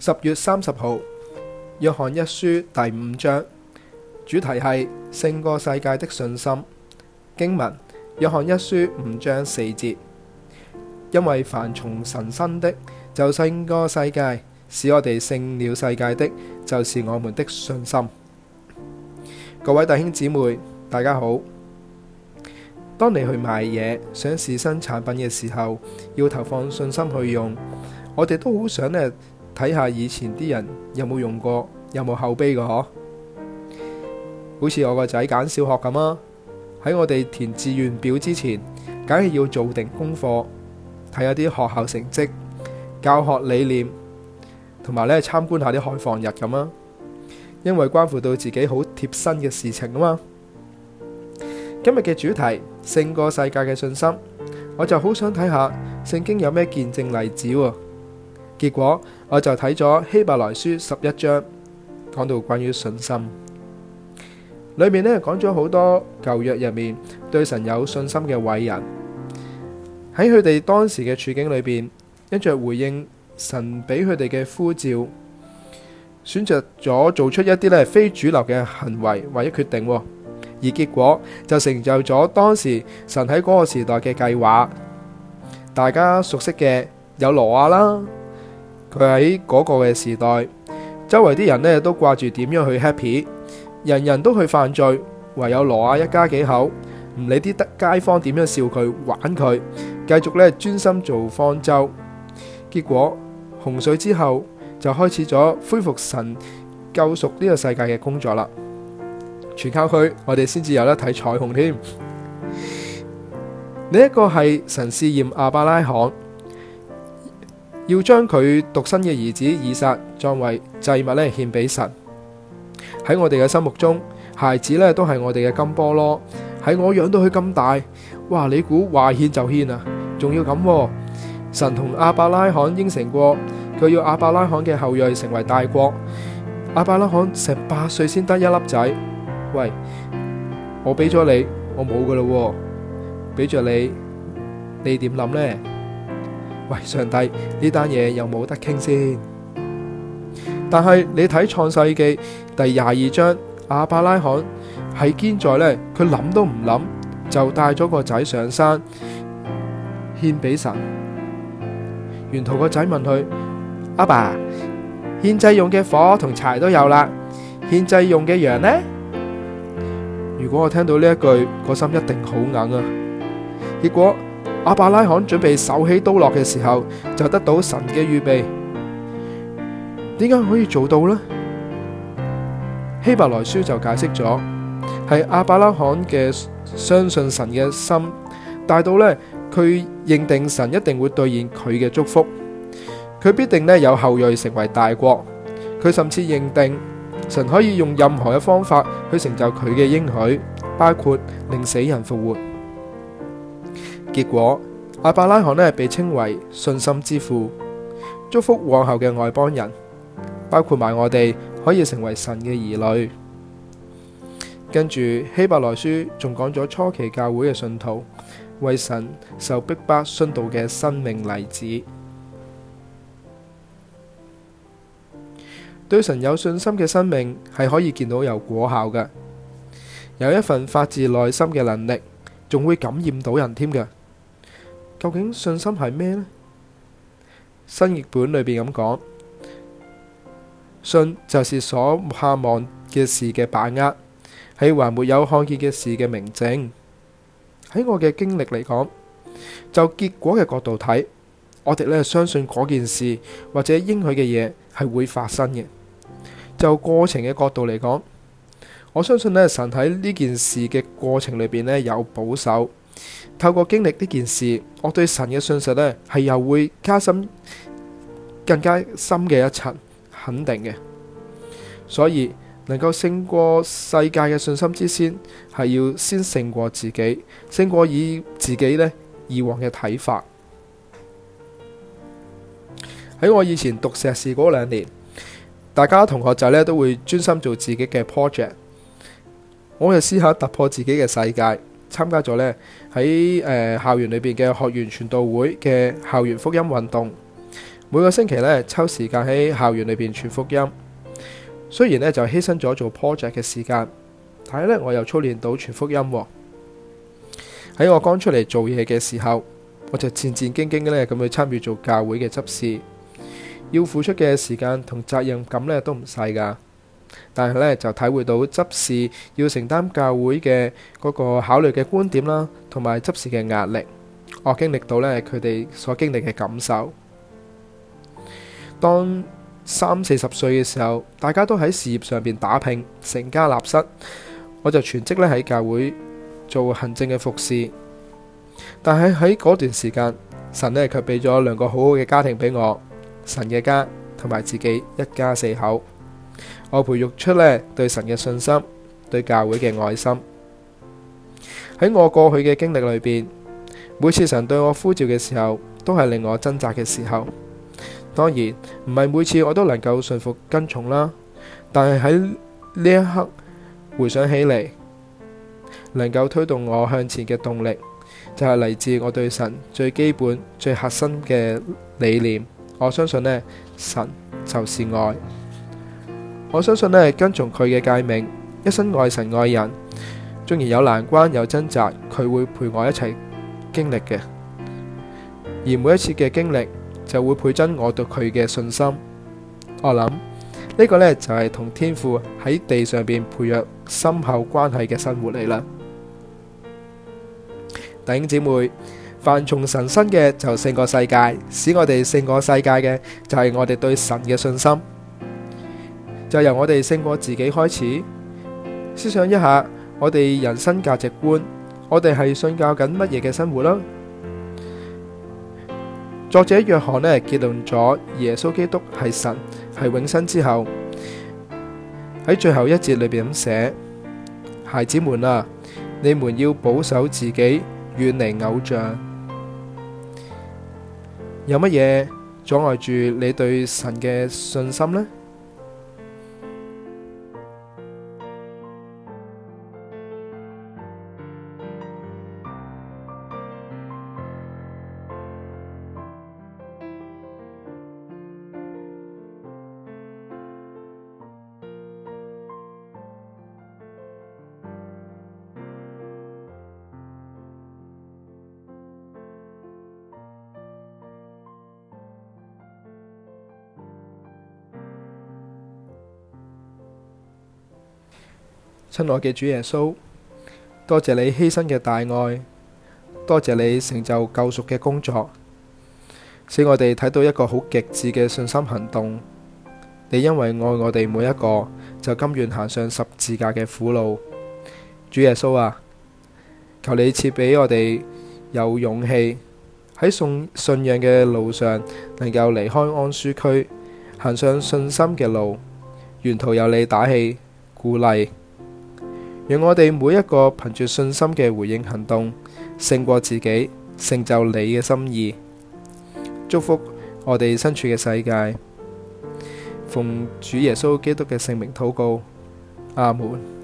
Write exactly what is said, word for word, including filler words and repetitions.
十月三十號，約翰一書第五章，主題係勝過世界的信心。經文：約翰一書五章四節。因為凡從神生的，就勝過世界；使我哋勝了世界的，就是我們的信心。各位弟兄姊妹，大家好。當你去買嘢，想試新產品嘅時候，要投放信心去用。我哋都好想呢睇下以前啲人有冇用過，有冇口碑嘅嗬。好似我個仔揀小學咁啊，喺我哋填志願表之前，梗係要做定功課，睇下啲學校成績、教學理念，同埋咧參觀下啲開放日咁啊。因為關乎到自己好貼身嘅事情啊嘛。今日嘅主題勝過世界嘅信心，我就好想睇下聖經有咩見證例子喎。結果我就睇咗希伯來書十一章，講到關於信心，裏面呢講咗好多舊約入面對神有信心嘅偉人，喺佢哋當時嘅處境裏邊，因着回應神俾佢哋嘅呼召，選擇咗做出一啲呢非主流嘅行為或者決定，而結果就成就咗當時神喺嗰個時代嘅計劃。大家熟悉嘅有挪亞啦，佢喺嗰個嘅時代，周圍啲人呢都掛住點樣去 happy， 人人都去犯罪，唯有挪亞一家幾口唔理啲街坊點樣笑佢玩佢，繼續呢專心做方舟。結果洪水之後就開始咗恢復神救贖呢個世界嘅工作啦。全靠佢，我哋先至有得睇彩虹添。呢一個係神試驗亞伯拉罕，要將佢獨生嘅兒子以撒作為祭物咧獻俾神。喺我哋嘅心目中，孩子咧都係我哋嘅金菠蘿，喺我養到佢咁大，哇！你估話獻就獻啊？仲要咁喎？神同亞伯拉罕應承過，佢要亞伯拉罕嘅後裔成為大國。亞伯拉罕成八歲先得一粒仔。喂，我俾咗你，我冇噶啦，俾咗你，你點諗呢？喂，上帝，呢單嘢又冇得傾先。但係你睇創世記第廿二章，亞伯拉罕係堅在呢，佢諗都唔諗就帶咗個仔上山獻俾神。沿途個仔問佢：阿爸，獻祭用嘅火同柴都有啦，獻祭用嘅羊呢？如果我聽到呢一句，個心一定好硬啊！結果亞伯拉罕準備手起刀落嘅時候，就得到神嘅預備。點解可以做到呢？希伯來書就解釋咗，係亞伯拉罕嘅相信神嘅心大到呢，佢認定神一定會兌現佢嘅祝福，佢必定呢有後裔成為大國。佢甚至認定神可以用任何嘅方法去成就佢嘅應許，包括令死人復活。結果亞伯拉罕呢被稱為信心之父，祝福往後嘅外邦人，包括埋我哋可以成為神嘅兒女。跟住希伯來書仲講咗初期教會嘅信徒為神受逼迫殉道嘅生命例子。對神有信心嘅生命係可以見到有果效嘅，有一份發自內心嘅能力，仲會感染到人添嘅。究竟信心係咩呢？新譯本裏邊咁講，信就是所盼望嘅事嘅把握，係還沒有看見嘅事嘅明證。喺我嘅經歷嚟講，就結果嘅角度睇，我哋咧相信嗰件事或者應許嘅嘢係會發生嘅。就過程嘅角度嚟講，我相信咧神喺呢件事嘅過程裏邊咧有保守。透過經歷呢件事，我對神嘅信實咧係又會加深更加深嘅一層肯定嘅。所以能夠勝過世界嘅信心之先，係要先勝過自己，勝過以自己咧以往嘅睇法。喺我以前讀碩士嗰兩年，大家同學仔咧都會專心做自己嘅 project， 我就試下突破自己嘅世界，參加咗呢喺誒校園裏邊嘅學園傳道會嘅校園福音運動， 每個星期呢抽時間喺校園裏邊傳福音。雖然呢就犧牲咗做 project 嘅時間，但係呢我又操練到傳福音喎。喺我剛出嚟做嘢嘅時候，我就戰戰兢兢咧咁去參與做教會嘅執事，要付出嘅時間同責任感呢都唔細噶。但係呢就體會到執事要承擔教會嘅嗰個考慮嘅觀點啦，同埋執事嘅壓力，我經歷到呢佢哋所經歷嘅感受。當三四十歲嘅時候，大家都喺事業上邊打拼，成家立室，我就全職咧喺教會做行政嘅服侍。但係喺嗰段時間，神呢卻俾咗兩個好好嘅家庭俾我，神嘅家同埋自己一家四口。我培育出呢對神嘅信心，對教會嘅愛心。喺我過去嘅經歷裏邊，每次神對我呼召嘅時候，都係令我掙扎嘅時候。當然唔係每次我都能夠順服跟從啦，但係喺呢一刻回想起嚟，能夠推動我向前嘅動力，就係嚟自我對神最基本最核心嘅理念。我相信呢，神就是愛。我相信呢，跟從佢嘅誡命，一生愛神愛人，縱然有難關有掙扎，佢會陪我一齊經歷嘅。而每一次嘅經歷，就會倍增我對佢嘅信心。我諗呢個呢，就係同天父喺地上邊培養深厚關係嘅生活嚟啦。弟兄姊妹，凡從神生嘅就勝過世界，使我哋勝過世界嘅就係我哋對神嘅信心。就由我哋勝過自己開始，思想一下我哋人生價值觀，我哋係信教緊乜嘢嘅生活啦？作者約翰呢結論咗耶穌基督係神係永生之後，喺最後一節裏邊咁寫：孩子們啊，你們要保守自己，遠離偶像。有乜嘢阻礙住你對神嘅信心呢？親愛嘅主耶穌，多謝你犧牲嘅大愛，多謝你成就救贖嘅工作，使我哋睇到一個好極致嘅信心行動。你因為愛我哋每一個，就甘願行上十字架嘅苦路。主耶穌啊，求你賜俾我哋有勇氣喺信信仰嘅路上，能夠離開安舒區，行上信心嘅路，沿途有你打氣鼓勵。讓我哋每一個憑住信心嘅回應行動，勝過自己，成就你嘅心意。祝福我哋身處嘅世界，奉主耶穌基督嘅聖名禱告，阿門。